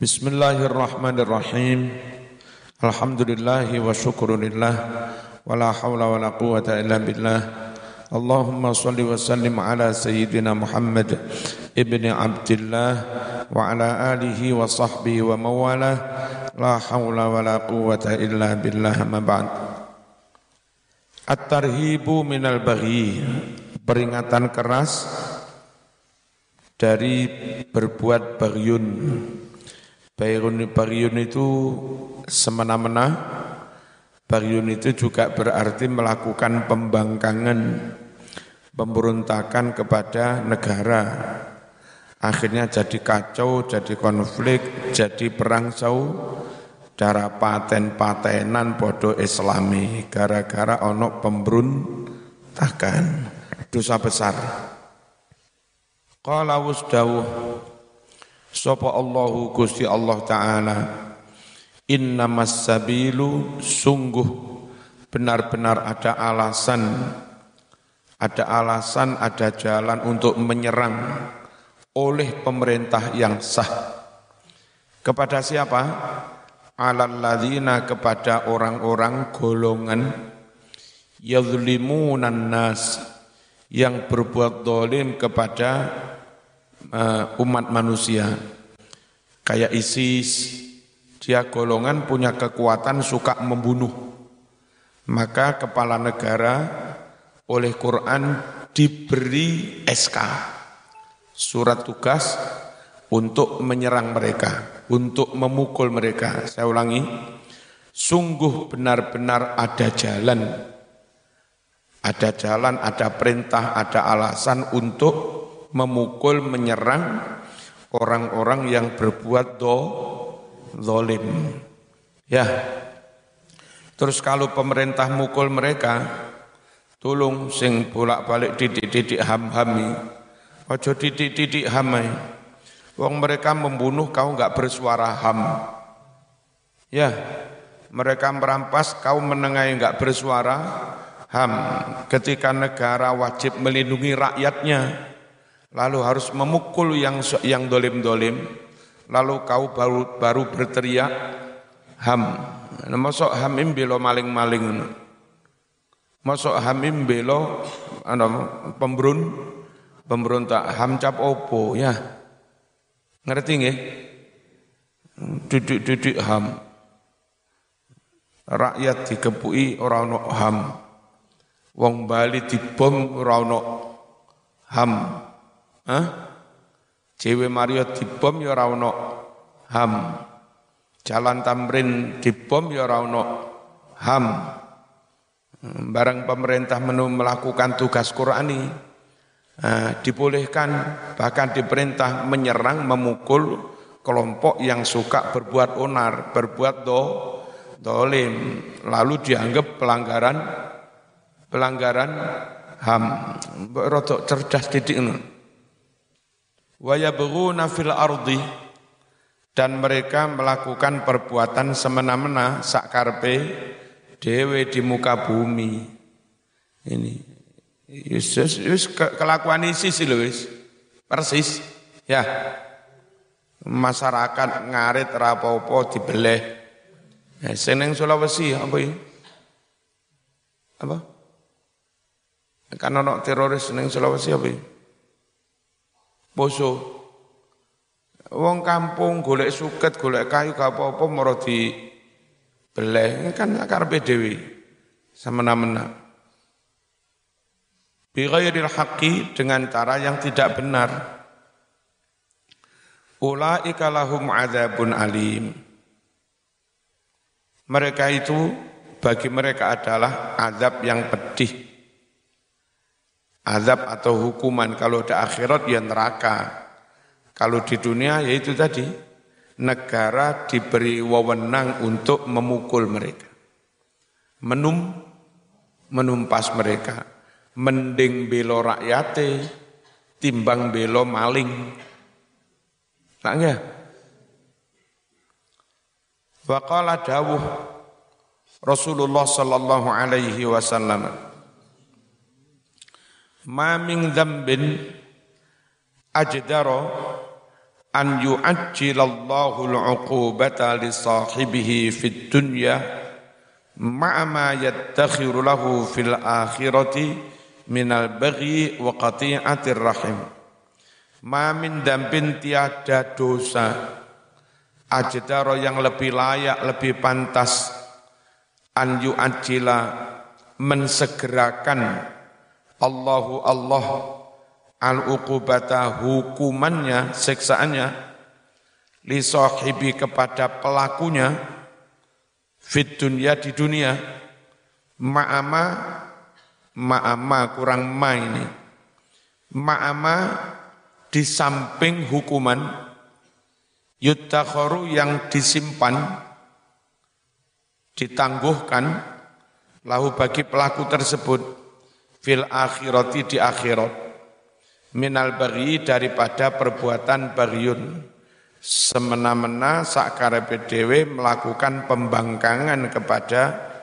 Bismillahirrahmanirrahim. Alhamdulillahi wa syukurillah. Wa la hawla wa la quwata illa billah. Allahumma salli wa sallim ala sayyidina Muhammad ibni Abdillah wa ala alihi wa sahbihi wa mawalah. La hawla wa la quwata illa billah, ma ba'd. At-tarhibu minal baghi, peringatan keras dari berbuat baghyun. Baghyun itu semena-mena. Baghyun itu juga berarti melakukan pembangkangan, pemberontakan kepada negara. Akhirnya jadi kacau, jadi konflik, jadi perang saudara, paten-patenan podo Islami gara-gara ono pemberontakan. Dosa besar. Qala wasdawuh sapa Allahu Gusti Allah Ta'ala, innamas sabilu, sungguh benar-benar ada alasan, ada jalan untuk menyerang oleh pemerintah yang sah. Kepada siapa? Alal ladzina, kepada orang-orang golongan yadhlimunan nas, yang berbuat zalim kepada umat manusia. Kayak ISIS, dia golongan punya kekuatan suka membunuh. Maka kepala negara oleh Quran diberi SK, surat tugas untuk menyerang mereka, untuk memukul mereka. Saya ulangi, sungguh benar-benar ada jalan, ada perintah, ada alasan untuk memukul, menyerang orang-orang yang berbuat zalim. Ya. Terus kalau pemerintah mukul mereka, tolong sing bolak-balik didik-didik ham-hami. Ojo didik-didik hamai. Wong mereka membunuh, kau enggak bersuara ham. Ya. Mereka merampas, kau menengahi enggak bersuara ham. Ketika negara wajib melindungi rakyatnya, lalu harus memukul yang dolim-dolim, lalu kau baru berteriak ham. Masuk hamim belo maling-maling, masuk hamim belo pemberontak, ham cap opo, ya ngerti nggih? Duduk ham, rakyat dikepuki ora ono ham, wong Bali dibom ora ono ham. Jewe Mario dibom ya ora ono ham. Jalan Tamrin dibom ya ora ono ham. Barang pemerintah melakukan tugas Qur'ani, dibolehkan, bahkan diperintah menyerang, memukul kelompok yang suka berbuat onar, berbuat dolim, lalu dianggap pelanggaran ham. Rodok cerdas didik. Wa yabghuna fil ardi, dan mereka melakukan perbuatan semena-mena sakarpe dewe di muka bumi. Ini Yesus kelakuan ISIS lho wis persis ya. Masyarakat ngarit rapopo dibeleh. Seneng Sulawesi apa ini? Apa? Kan ono teroris seneng Sulawesi apa ini? Poso. Wong kampung golek suket, golek kayu gak apa-apa moro dibeleh, kan karepe dhewe semena-mena. Bi ghairil haqqi, dengan cara yang tidak benar. Ulaika lahum adzabun alim. Mereka itu, bagi mereka adalah azab yang pedih. Azab atau hukuman, kalau di akhirat ya neraka. Kalau di dunia yaitu tadi, negara diberi wewenang untuk memukul mereka, menumpas mereka. Mending belo rakyate timbang belo maling. Tak enggak? Wa qala dawuh Rasulullah sallallahu alaihi wasallam, ma min dzambin ajdara an yu'ajjilallahu al-'uqubata li sahibihi fid dunya ma'a ma yattakhiru lahu fil akhirati minal baghi wa qati'atir rahim. Ma min dambin tiada dosa ajdaro yang lebih layak, lebih pantas an yu'ajjila mensegerakan Allahu Allah al-uqubata hukumannya, siksaannya li sahibi kepada pelakunya fit dunya di dunia ma'ama kurang ma ini ma'ama di samping hukuman yuttakharu yang disimpan ditangguhkan lahu bagi pelaku tersebut fil akhirati di akhirat minal baghi daripada perbuatan baghiyun semena-mena sakarepe dhewe melakukan pembangkangan kepada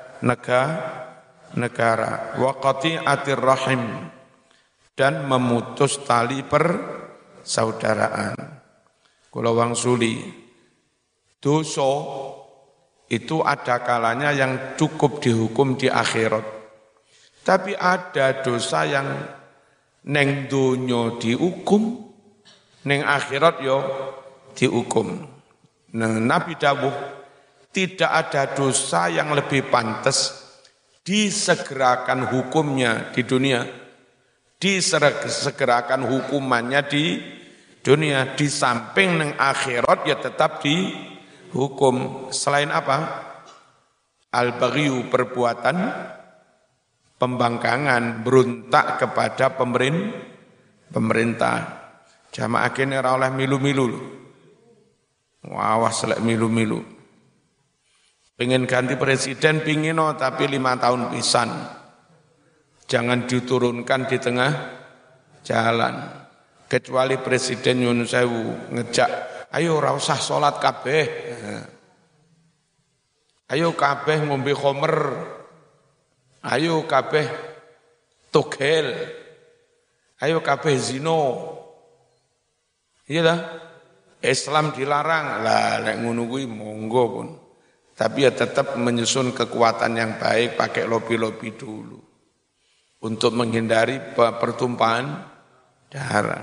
negara wa qati'atir rahim dan memutus tali persaudaraan. Kula wangsuli dosa itu ada kalanya yang cukup dihukum di akhirat. Tapi ada dosa yang neng donya dihukum, neng akhirat yo dihukum. Nah, Nabi dawuh tidak ada dosa yang lebih pantas disegerakan hukumnya di dunia, disegerakan hukumannya di dunia, di samping neng akhirat ya tetap dihukum. Selain apa? Al-baghyu perbuatan pembangkangan, berontak kepada pemerintah. Jamaah kene ora oleh milu-milu. Awas lek milu-milu. Pengen ganti presiden pingin tapi 5 tahun pisan. Jangan diturunkan di tengah jalan. Kecuali presiden nyun sewu ngejak, ayo ora usah salat kabeh. Ayo kabeh ngombe khamr. Ayo kabeh togel, ayo kabeh zino, iya dah. Islam dilarang, lah lek ngono kuwi monggo pun. Tapi ya tetap menyusun kekuatan yang baik, pakai lobi-lobi dulu untuk menghindari pertumpahan darah.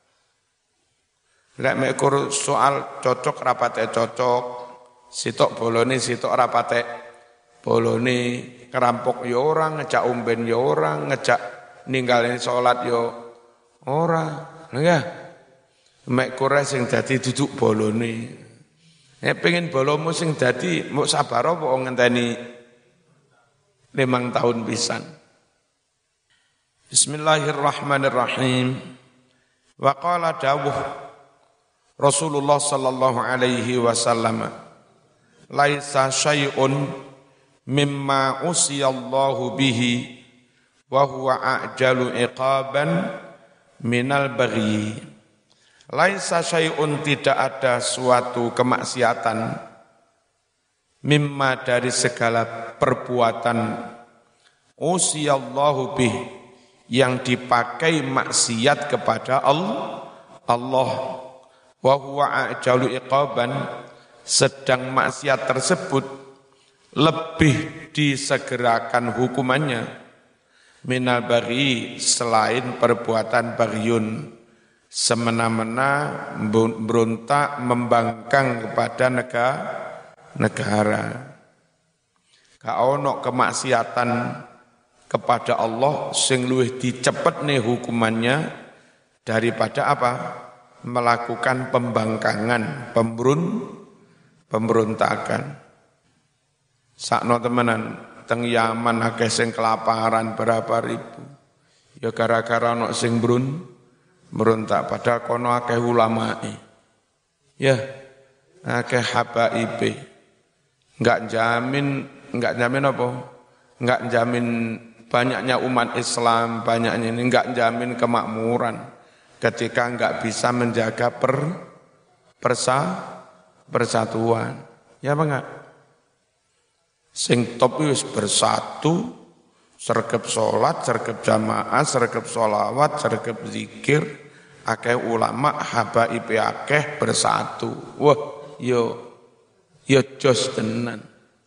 Lek mekur soal cocok rapate cocok, sitok bolone sitok rapate bolone. Ngerampok ya orang, ngejak umben ya orang, ngejak ninggalin sholat ya orang. Enggak. Mek kure sing dadi duduk bolone. Nek pengen bolomu sing dadi mbok sabar apa ngenteni 5 tahun pisan. Bismillahirrahmanirrahim. Wa qala dawuh Rasulullah sallallahu alaihi wasallam laisa syai'un mimma usiyallahu bihi wa huwa a'jalu iqaban minal baghi. Laisa syai'un tidak ada suatu kemaksiatan mimma dari segala perbuatan usiyallahu bihi yang dipakai maksiat kepada Allah wa huwa a'jalu iqaban sedang maksiat tersebut lebih disegerakan hukumannya minal baghi selain perbuatan baghyun semena-mena berontak membangkang kepada negara. Ka ono kemaksiatan kepada Allah sing luwih dicepetne hukumannya daripada apa? Melakukan pembangkangan, pemberontakan. Sakno temenan teng Yaman akeh sing kelaparan berapa ribu. Ya gara-gara ono sing berontak padahal kono akeh ulamae. Ya, akeh habaibe. Enggak jamin apa? Enggak jamin banyaknya umat Islam, banyaknya ini enggak jamin kemakmuran ketika enggak bisa menjaga persatuan. Ya apa enggak? Sing top wis bersatu, sergap sholat, sergap jamaah, sergap sholawat, sergap zikir, akeh ulama habaibe akeh bersatu. Wah, yo jos tenan.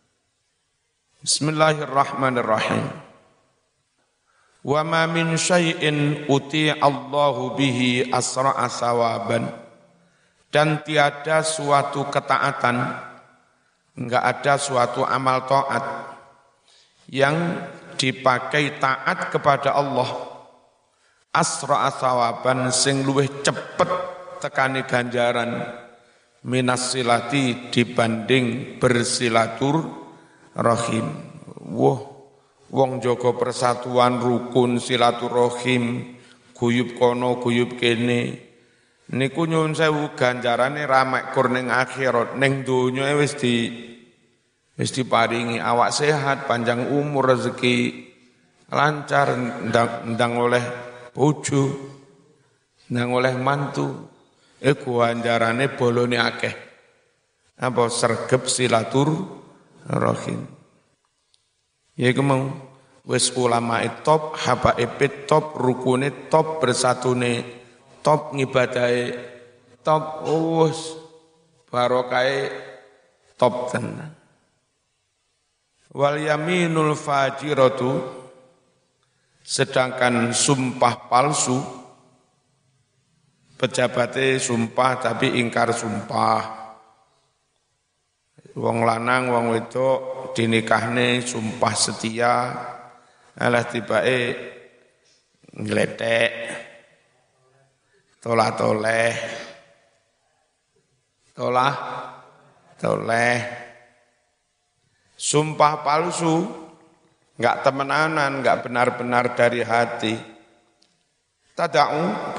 Bismillahirrahmanirrahim. Wa ma min syai'in Allahu bihi asra'a sawaban. Dan tiada suatu ketaatan, enggak ada suatu amal taat yang dipakai taat kepada Allah asra'a sawaban sing luwih cepet tekani ganjaran minas silati dibanding bersilatur rahim. Wong jaga persatuan rukun silaturahim guyub kono guyub kene niku nyuwun sewu ganjarane ramek kur ning akhirat ning donya wis diparingi awak sehat panjang umur rezeki lancar ndang oleh bojo ndang oleh mantu ganjarane bolone akeh apa sregep silatur rahim. Ya iku mau wis ulama top, habaib top, rukune top, bersatune top, ngibadahe top, wis barokahe top tenan. Wal yaminul fajiratu sedangkan sumpah palsu pejabatnya sumpah tapi ingkar sumpah. Wong lanang wong wedok dinikahne sumpah setia alah tibake ngletek toleh sumpah palsu enggak temenanan enggak benar-benar dari hati tada'u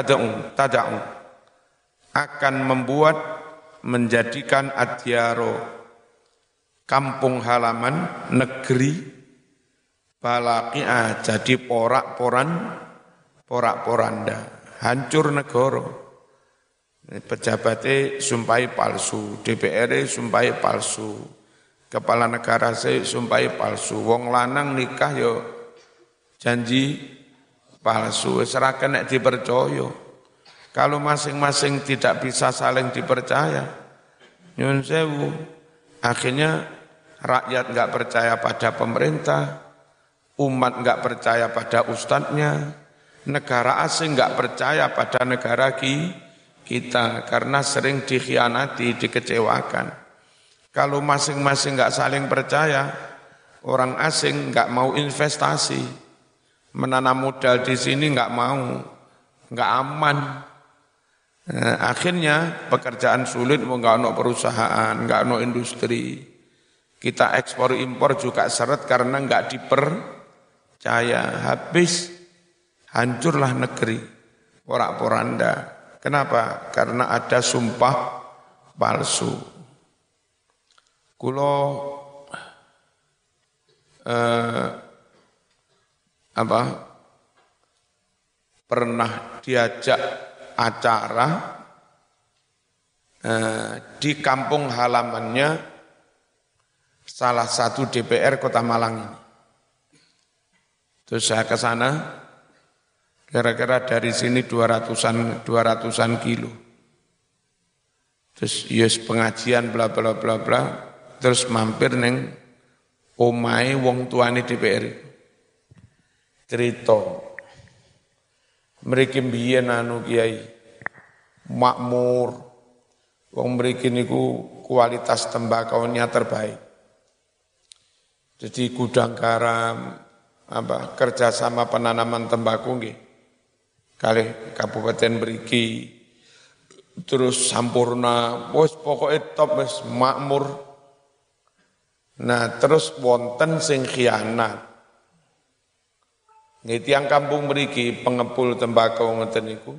akan membuat menjadikan adyaro kampung halaman negeri balaqi'ah jadi porak-poranda hancur negara. Pejabatnya sumpahi palsu, DPR sumpahi palsu, kepala negara sumpahi palsu, wong lanang nikah yo janji palsu, ora kena dipercaya. Kalau masing-masing tidak bisa saling dipercaya, nyun sewu, akhirnya rakyat enggak percaya pada pemerintah, umat enggak percaya pada ustadznya, negara asing enggak percaya pada negara kita karena sering dikhianati, dikecewakan. Kalau masing-masing enggak saling percaya, orang asing enggak mau investasi, menanam modal di sini enggak mau, enggak aman. Akhirnya pekerjaan sulit, enggak ada perusahaan, enggak ada industri. Kita ekspor impor juga seret karena enggak dipercaya. Habis hancurlah negeri, porak-poranda. Kenapa? Karena ada sumpah palsu. Kulo pernah diajak acara di kampung halamannya salah satu DPR Kota Malang ini. Terus saya ke sana, kira-kira dari sini 200-an kilo. Terus yes pengajian bla bla bla bla, terus mampir neng omahe wong tuane DPR. Cerita mriki mbiyen kiai makmur, wong mriki niku kualitas tembakaunya terbaik. Jadi gudang garam, kerjasama penanaman tembakau nggih kalih kabupaten mriki, terus sampurna, wis pokoke top wis makmur. Nah terus wonten sing khianat. Nggih tiyang kampung mriki pengepul tembakau ngoten niku.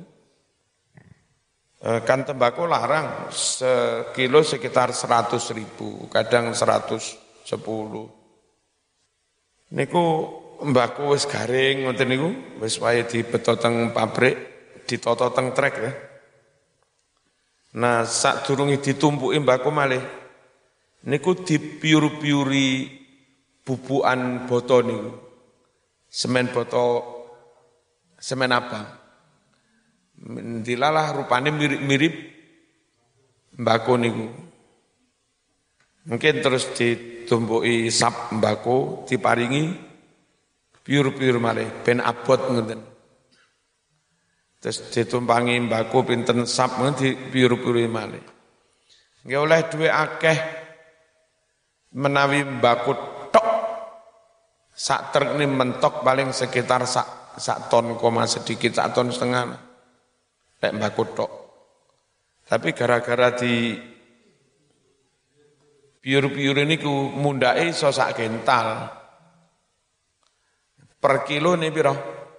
Kan tembakau larang sekilo sekitar 100.000, kadang 110. Niku mbako wis garing ngoten niku, wis wae dibeto teng pabrik, ditata teng trek ya. Nah, sadurunge ditumpuki mbako malih niku dipiur-piuri bubukan boto niku. Semen boto, semen abang. Dilalah rupane mirip-mirip mbako niku. Mungkin terus ditumbuhi sap mbako, diparingi piur-piur malih ben abot ngoten. Terus ditumpangi mbako pinten sap ngoten dipiur-piuri malih. Nggih oleh duwe akeh menawi mbako tok sak truk ini mentok paling sekitar sak ton koma sedikit, sak ton setengah. Lek mbako tok. Tapi gara-gara di piur-piur ini ku mundake iso sak kental. Per kilo ini piro?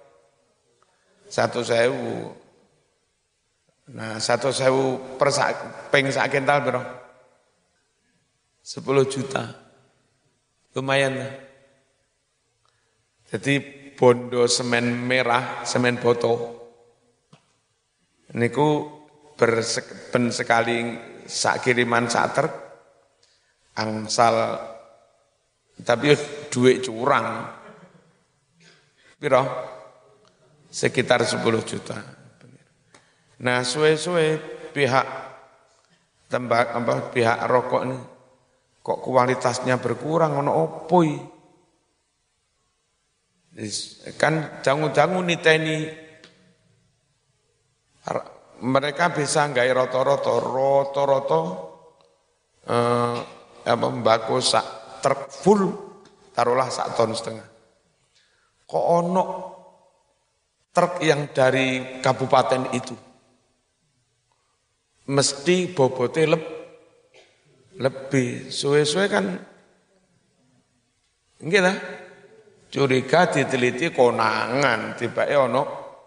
1.000. Nah, 1.000 per ping sak kental piro? 10 juta. Lumayan lah. Jadi bondo semen merah, semen boto. Niku ben sekali sak kiriman sak truk angsal tapi duit curang. Piro? Sekitar 10 juta. Nah, suwe-suwe pihak pihak rokok ini kok kualitasnya berkurang ono opo iki? Kan jangu-jangu niteni mereka bisa nggawe rata-rata mbako sak truk full taruhlah 1,5 ton. Kok ono truk yang dari kabupaten itu mesti bobote lebih suwe-suwe kan nggih lah curiga diteliti konangan tibake ono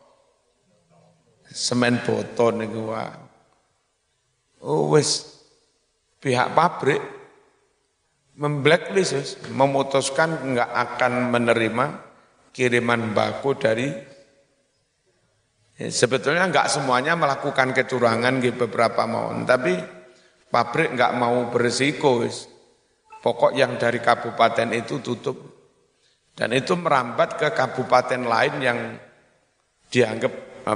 semen boto niku wae. Oh wis pihak pabrik memblacklist memutuskan enggak akan menerima kiriman mbako dari sebetulnya enggak semuanya melakukan kecurangan di beberapa mohon, tapi pabrik enggak mau berisiko wis. Pokok yang dari kabupaten itu tutup. Dan itu merambat ke kabupaten lain yang dianggap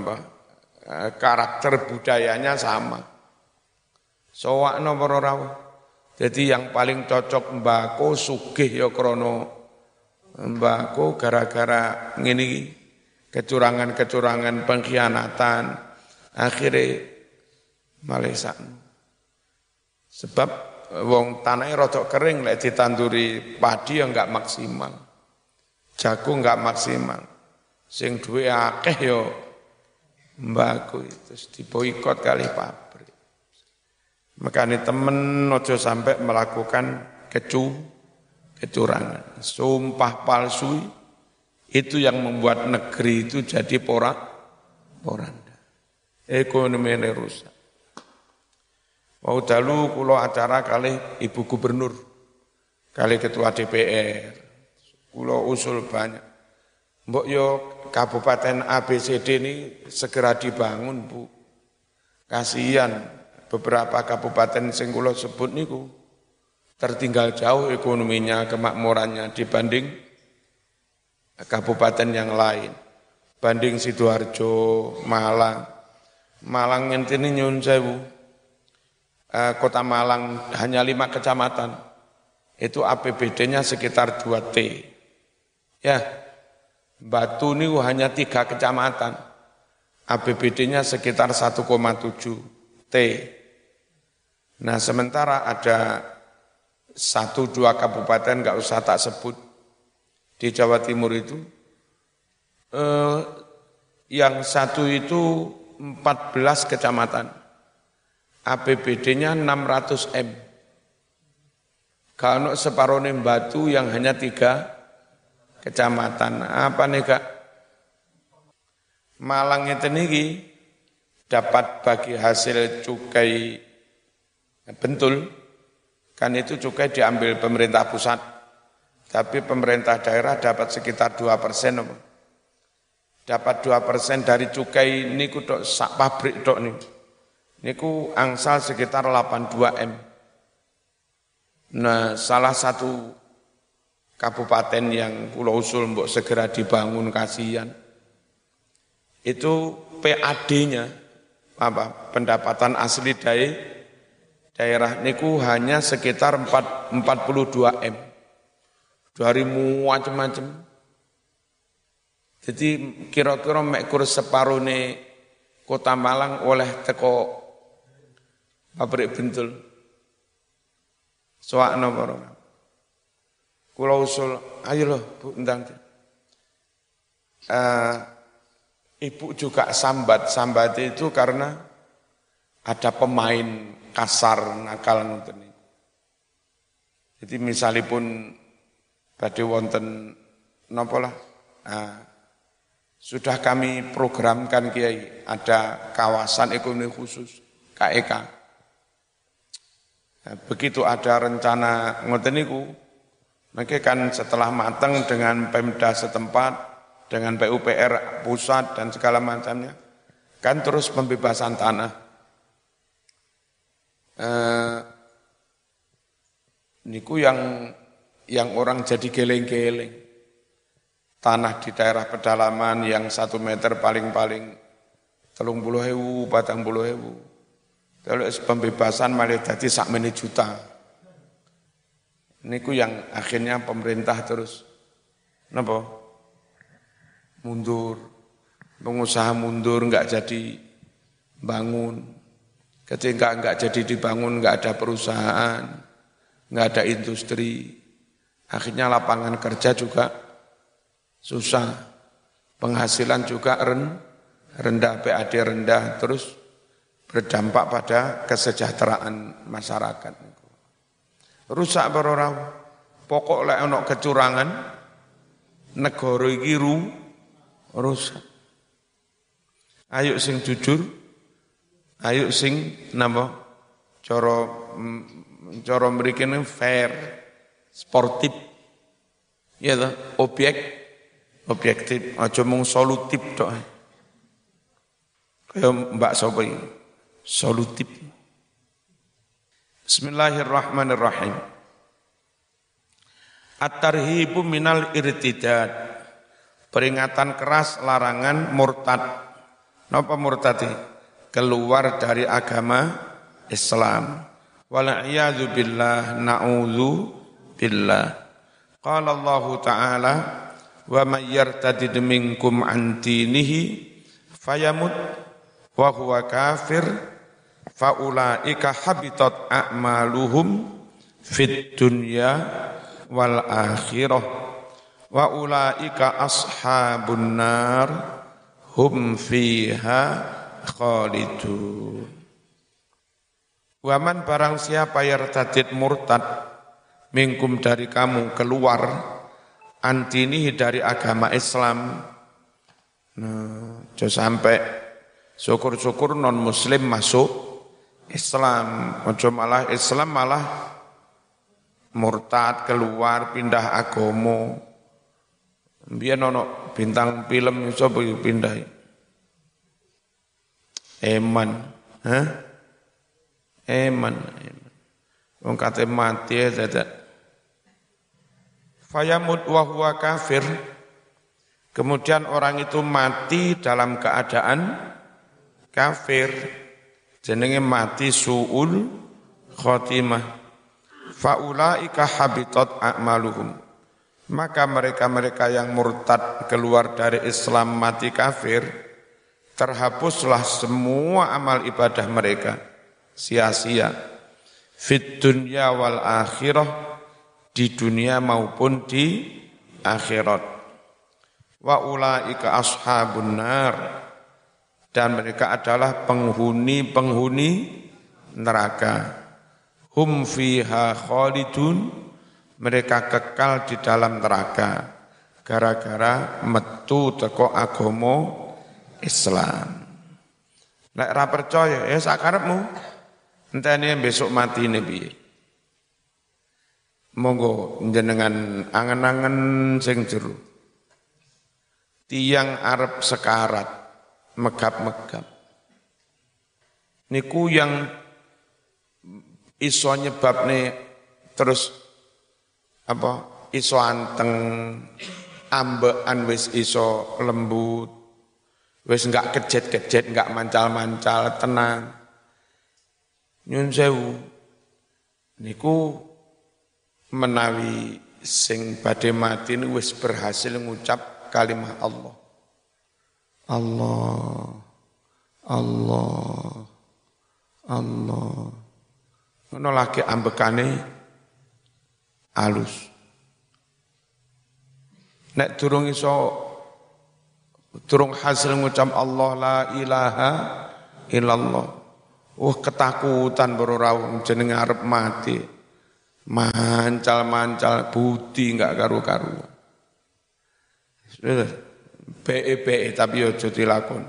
karakter budayanya sama. Sowak nomor ora. Jadi yang paling cocok mbako sugih ya krana mbako gara-gara ngene kecurangan-kecurangan pengkhianatan akhirnya malesan. Sebab wong tanahnya rodok kering lek ditanduri padi ya enggak maksimal. Jagung enggak maksimal. Sing duwe akeh ya mbako itu diboikot kali pabrik. Makanya temen ojo sampai melakukan kecurangan. Sumpah palsu itu yang membuat negeri itu jadi poranda. Ekonomi ini rusak. Mau dalu kula acara kali Ibu Gubernur, kali Ketua DPR, kula usul banyak. Mbok yo Kabupaten ABCD ini segera dibangun, Bu. Kasihan beberapa kabupaten sing kula sebut niku tertinggal jauh ekonominya, kemakmurannya dibanding kabupaten yang lain. Banding Sidoarjo, Malang. Malang ngenteni nyun sewu. Kota Malang hanya 5 kecamatan. Itu APBD-nya sekitar 2 T. Ya. Batu ini hanya 3 kecamatan, APBD-nya sekitar 1,7 T. Nah sementara ada 1-2 kabupaten nggak usah tak sebut di Jawa Timur itu, yang satu itu 14 kecamatan, APBD-nya 600 M. Kalau separuh Batu yang hanya 3 kecamatan. Apa nih Kak? Malang itu niki dapat bagi hasil cukai Bentul, kan itu cukai diambil pemerintah pusat, tapi pemerintah daerah dapat sekitar 2%. Dapat 2% dari cukai niku tok sak pabrik tok niku. Niku angsal sekitar 82 M. Nah, salah satu kabupaten yang Pulau Usul mbok segera dibangun kasihan. Itu PAD-nya pendapatan asli daerah niku hanya sekitar 42 M. Dari macam-macam. Jadi kira-kira mek kurus separone Kota Malang oleh teko pabrik bentul. Soakno para. Kula usul, ayo loh Bu ndang. Ibu juga sambat itu karena ada pemain kasar nakal ngoten niku. Jadi misalipun badhe wonten napa lah. Sudah kami programkan Kiai, ada kawasan ekonomi khusus KEK. Begitu ada rencana ngoten niku, maka kan setelah matang dengan Pemda setempat, dengan PUPR pusat dan segala macamnya, kan terus pembebasan tanah. Niku yang orang jadi geleng-geleng. Tanah di daerah pedalaman yang 1 meter paling-paling 30.000, 40.000. Kalau pembebasan malah jadi sak juta. Niku yang akhirnya pemerintah terus napa? Mundur. Pengusaha mundur enggak jadi bangun. Ketika enggak jadi dibangun enggak ada perusahaan, enggak ada industri. Akhirnya lapangan kerja juga susah, penghasilan juga rendah, PAD rendah, terus berdampak pada kesejahteraan masyarakat. Rusak berorang, pokok lek ana kecurangan, negara iki rusak. Ayo sing jujur, ayo sing napa? Cara mriki fair, sportif. Ya toh, objektif, aja mung solutif tok. Kaya Mbak sapa iki? Solutif. Bismillahirrahmanirrahim. At-tarhibu minal irtidad. Peringatan keras larangan murtad. Napa murtad? Keluar dari agama Islam. Wal'iyadzu billah, na'udzu billah. Qala Allah Ta'ala, wa may yartadid minkum an dinihi fayamut wa huwa kafir fa ulaika habitat a'maluhum fid dunya wal akhirah wa ulaika ashabun nar hum fiha khalidun. Wa man barang siapa yartadid murtad minkum dari kamu keluar antinihi dari agama Islam. Nah, sampai syukur-syukur non muslim masuk Islam, ojo malah Islam malah murtad keluar pindah agama. Biyen ono bintang film iso pindah. Eman, Eman. Wong kate mati dadak. Fayamut wa huwa kafir. Kemudian orang itu mati dalam keadaan kafir. Jenenge mati su'ul khotimah. Faulaika habitat a'maluhum. Maka mereka-mereka yang murtad keluar dari Islam mati kafir, terhapuslah semua amal ibadah mereka. Sia-sia. Fit dunya wal akhirah, di dunia maupun di akhirat. Wa ulaika ashabun nar, dan mereka adalah penghuni neraka. Hum fiha khalidun, mereka kekal di dalam neraka gara-gara metu teko agama Islam. Nek ra percaya ya sakarepmu, entene besok matine piye. Monggo jenengan angen-angen sing jero. Tiang arep sekarat, megap-megap. Niku yang iso nyebabne terus iso anteng, ambekan wis iso lembut, Wis enggak kejet-kejet, enggak mancal-mancal, tenang. Nyun sewu niku menawi sing badhe mati niku wis berhasil ngucap kalimat Allah. Allah, Allah, Allah. Ngono lagi ambekane alus. Nek durung hasil ngucap Allah la ilaha illallah. Ketakutan baru rawung jenenge arep mati. Mancal-mancal budi enggak karu-karuan. Be tapi aja dilakon.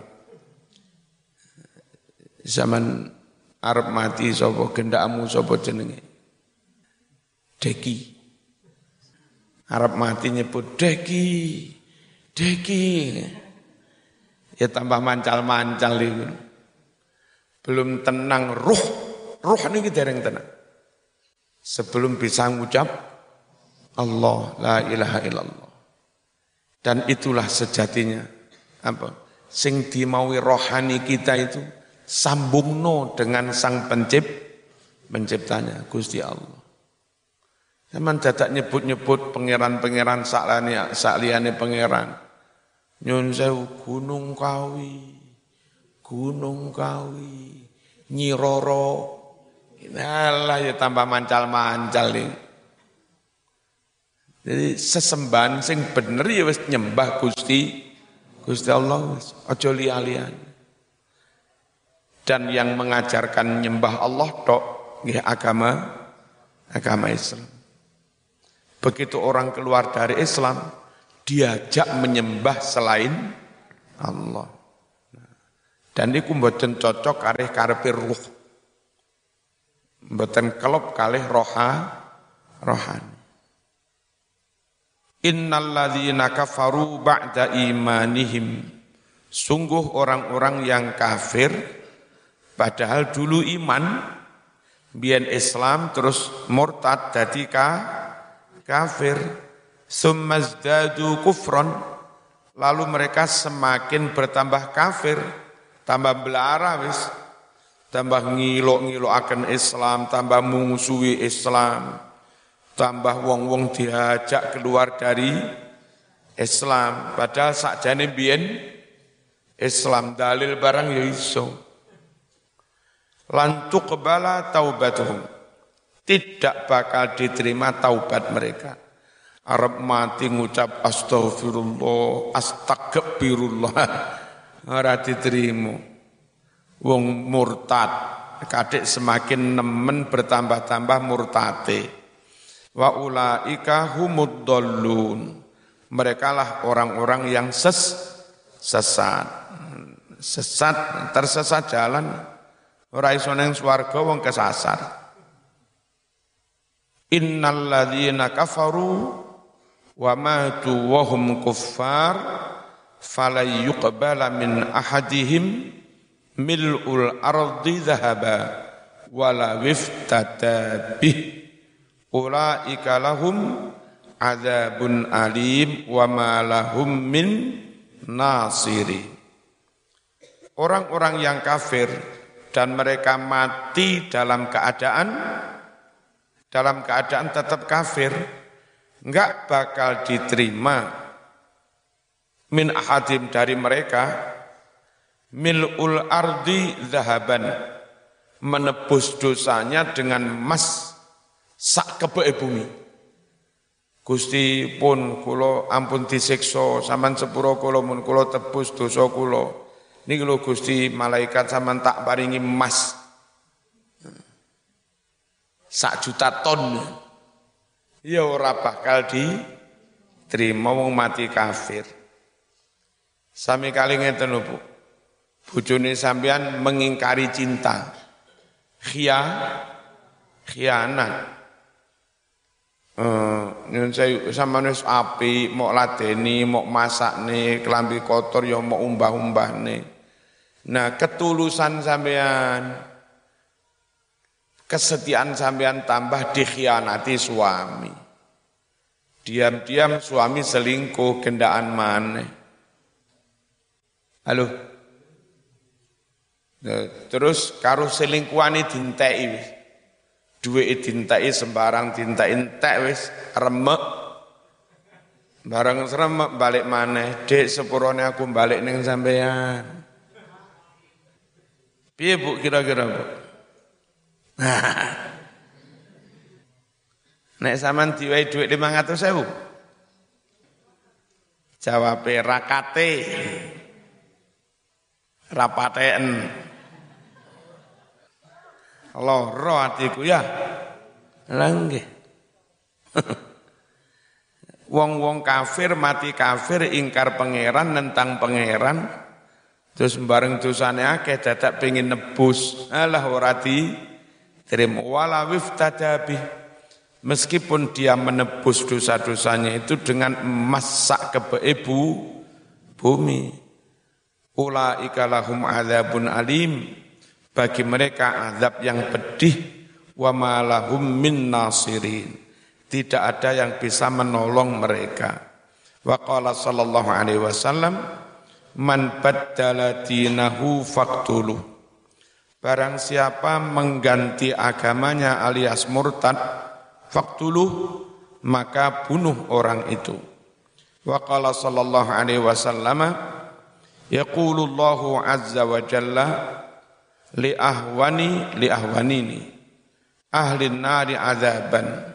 Zaman arep mati sapa gendakmu sapa jenenge? Deki. Arep mati nyebut Deki. Deki. Ya tambah mancal-mancal iki. Belum tenang ruh niki dereng tenang. Sebelum bisa ngucap Allah la ilaha illallah. Dan itulah sejatinya apa? Sing dimaui rohani kita itu sambungno dengan sang penciptanya Gusti Allah. Zaman dadak nyebut-nyebut pangeran-pangeran sakliyane pangeran. Nyun sewu Gunung Kawi, Nyi Roro. Alah ya tambah mancal-mancal ini. Jadi sesembahan sing bener ya wis nyembah Gusti Allah wis aja liya-liyan. Dan yang mengajarkan nyembah Allah tok nggih agama Islam. Begitu orang keluar dari Islam diajak menyembah selain Allah. Dan niku mboten cocok kalih karepe ruh. Mboten kelop kalih rohani. Innalladzina kafaru ba'da imanihim. Sungguh orang-orang yang kafir padahal dulu iman, biyen Islam terus murtad dadi kafir. Summazdadu kufron, lalu mereka semakin bertambah kafir, tambah belara wis, tambah ngilok-ngilokaken Islam, tambah mungsuhi Islam, tambah wong-wong diajak keluar dari Islam. Padahal sakjane biyen Islam dalil barang ya iso. Lan tuqbala taubatuhum, tidak bakal diterima taubat mereka. Arab mati ngucap astaghfirullah, astagfirullah, ora diterima. Wong murtad, kadek semakin nemen bertambah-tambah murtate. Wa ulaika humud dhallun. Mereka lah orang-orang yang sesat, tersesat jalan. Ora iso nang swarga wong kesasar. Innal ladzina kafaru wa matu wa hum kuffar falay yuqbala min ahadihim mil'ul ardi dhahaba wala wiftada bih ulaika lahum adzabun alim wa ma lahum min nasiri. Orang-orang yang kafir dan mereka mati dalam keadaan tetap kafir, enggak bakal diterima min ahadim dari mereka mil'ul ardi zahaban, menebus dosanya dengan emas sak kebeke bumi. Gusti pun kula ampun disiksa sampean sepuro kula mun kula tebus dosa kula niki lho Gusti, malaikat sampean tak paringi emas 1.000.000 ton. Ya ora bakal diterima wong mati kafir. Sami kali ngeten lho Bu. Bojone sampean mengingkari cinta. Khianat. Nyun saya sampean wis apik, mok ladeni, mok masakne, kelambi kotor ya mok umbah-umbahne. Nah, ketulusan sampean, kesetiaan sampean tambah dikhianati suami. Diam-diam suami selingkuh gendaan maneh. Halo. Terus karo selingkuhane dinteki wis. Duwike dinteki sembarang dinteki entek wis remek. Bareng remek balik maneh, Dik sepurone aku balik ning sampean. Piye Bu kira-kira Bu? Nek sampean diwehi dhuwit 500.000. Jawabe rakate. Rapaten. Loro atiku ya. Lah nggih. Wong-wong kafir mati kafir ingkar pangeran nentang pangeran terus bareng dosane akeh dadak pengin nebus. Alah ora diterima wala wiftadabi. Meskipun dia menebus dosa-dosanya itu dengan emas sak kebeke bumi. Ulaika lahum adzabun alim, bagi mereka azab yang pedih, wa ma lahum min nasirin, tidak ada yang bisa menolong mereka. Wa qala sallallahu alaihi wasallam, man baddala dinahu faqtuluh, barang siapa mengganti agamanya alias murtad, faqtuluh, maka bunuh orang itu. Wa qala sallallahu alaihi wasallam, yaqulullahu azza wa jalla li ahwanini ahlin nari azaban.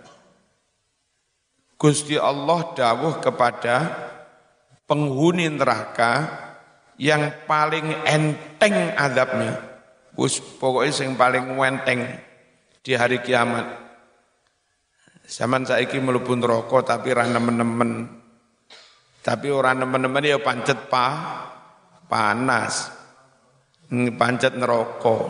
Gusti Allah dawuh kepada penghuni neraka yang paling enteng azabnya. Pokoknya yang paling enteng di hari kiamat. Zaman saiki mlebu neraka tapi ora nemen-nemen. Tapi ora nemen-nemen ya pancet panas, pancet neraka.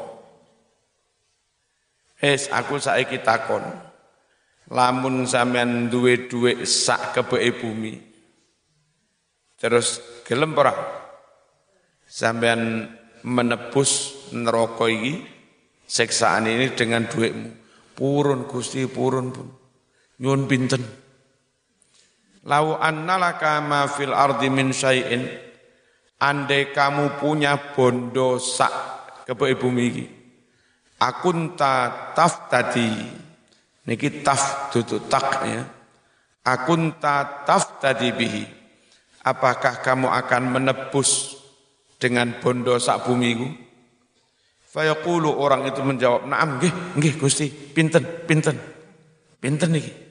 Aku saiki takon, lamun sampean duwe dhuwit sak kebeke bumi, terus gelem ora sampean menebus neraka iki, siksaan ini dengan dhuwitmu? Purun Gusti, purun pun. Nyuwun pinten? Lau annalaka ma fil ardi min syai'in, andai kamu punya bondo sak kebeke bumi iki, akunta taftadi, niki taf dudu tak ya, akunta taftadi bihi, apakah kamu akan menebus dengan bondo sak bumi iku? Fayaqulu, orang itu menjawab, na'am nggih Gusti, pinten niki.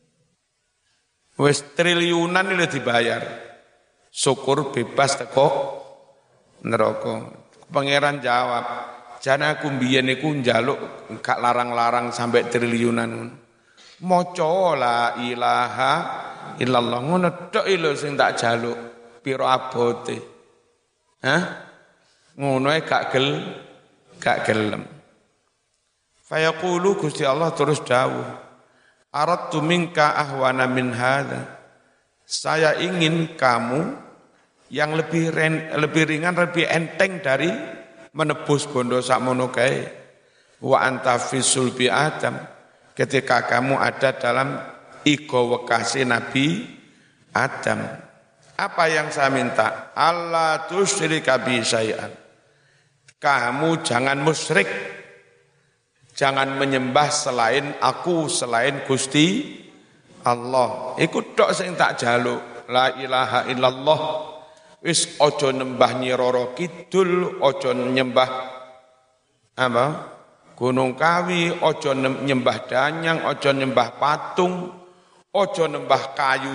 Wis triliunan ini dibayar. Syukur bebas teko neraka. Pangeran jawab, jane aku mbiyen iku njaluk gak larang-larang sampai triliunan. Maca la ilaha illallah ngono tok lho sing tak jaluk. Pira abote? Hah? Ngono ae gak gelem. Fayaqulu, Gusti Allah terus dawuh, aradtu minka ahwana min hadza, saya ingin kamu yang lebih ringan, lebih enteng dari menebus bondo sakmono kae. Wa anta fi sulbi Adam, ketika kamu ada dalam igo wekase Nabi Adam. Apa yang saya minta? Allah tusyrika bi syai'an, kamu jangan musyrik, jangan menyembah selain aku, selain Gusti Allah. Iku tok sing tak jaluk, la ilaha illallah. Wis aja nyembah Nyi Roro Kidul, aja nyembah apa? Gunung Kawi, aja nyembah danyang, aja nyembah patung, aja nyembah kayu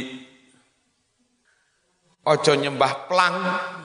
aja nyembah plang.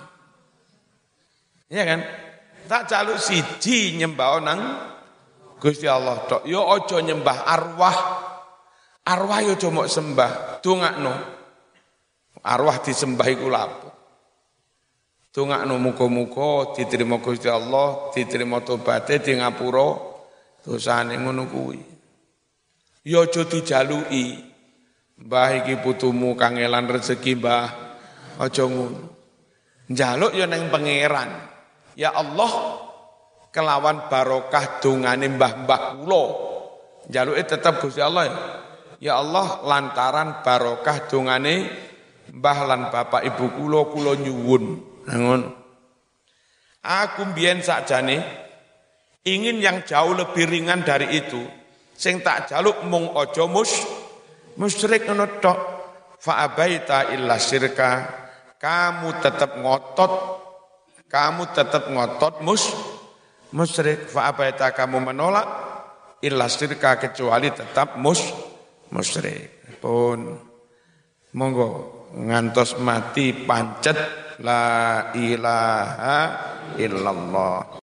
Iya kan? Tak jaluk siji nyembah nang Gusti Allah tok. Yo aja nyembah arwah. Arwah yo aja mok sembah, dongakno. Arwah disembah iku lapo? Dongakno muga-muga diterima Gusti Allah, diterima tobaté, di ngapura dosane, ngono kuwi. Yo aja dijaluki. Mbah iki putumu kangelan rezeki, Mbah. Aja ngono. Njaluk yo nang pangeran. Ya Allah, kelawan barokah dongane mbah-mbah kula, njaluke tetep Gusti Allah ya. Ya Allah, lantaran barokah dongane mbah lan bapak ibu kula nyuwun. Nangun. Aku mbiyen sakjane ingin yang jauh lebih ringan dari itu. Sing tak jaluk mung aja musyrik ngono tok. Fa abaita illa syirka. Kamu tetap ngotot musyrik. Fa abaita kamu menolak illa syirka kecuali tetap musyrik. Pun monggo ngantos mati pancet la ilaha illallah.